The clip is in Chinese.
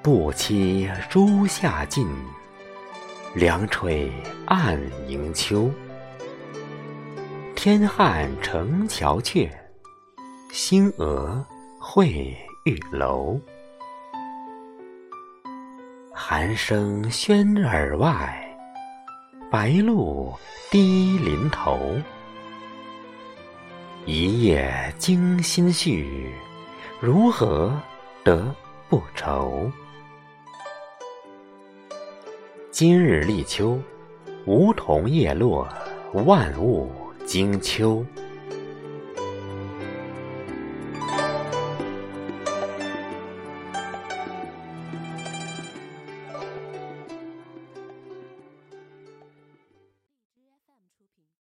不期初夏尽，凉吹暗迎秋。天汉城桥阙，星娥会玉楼。寒声喧耳外，白鹭低林头。一夜惊心绪，如何得不愁？今日立秋，梧桐叶落，万物惊秋。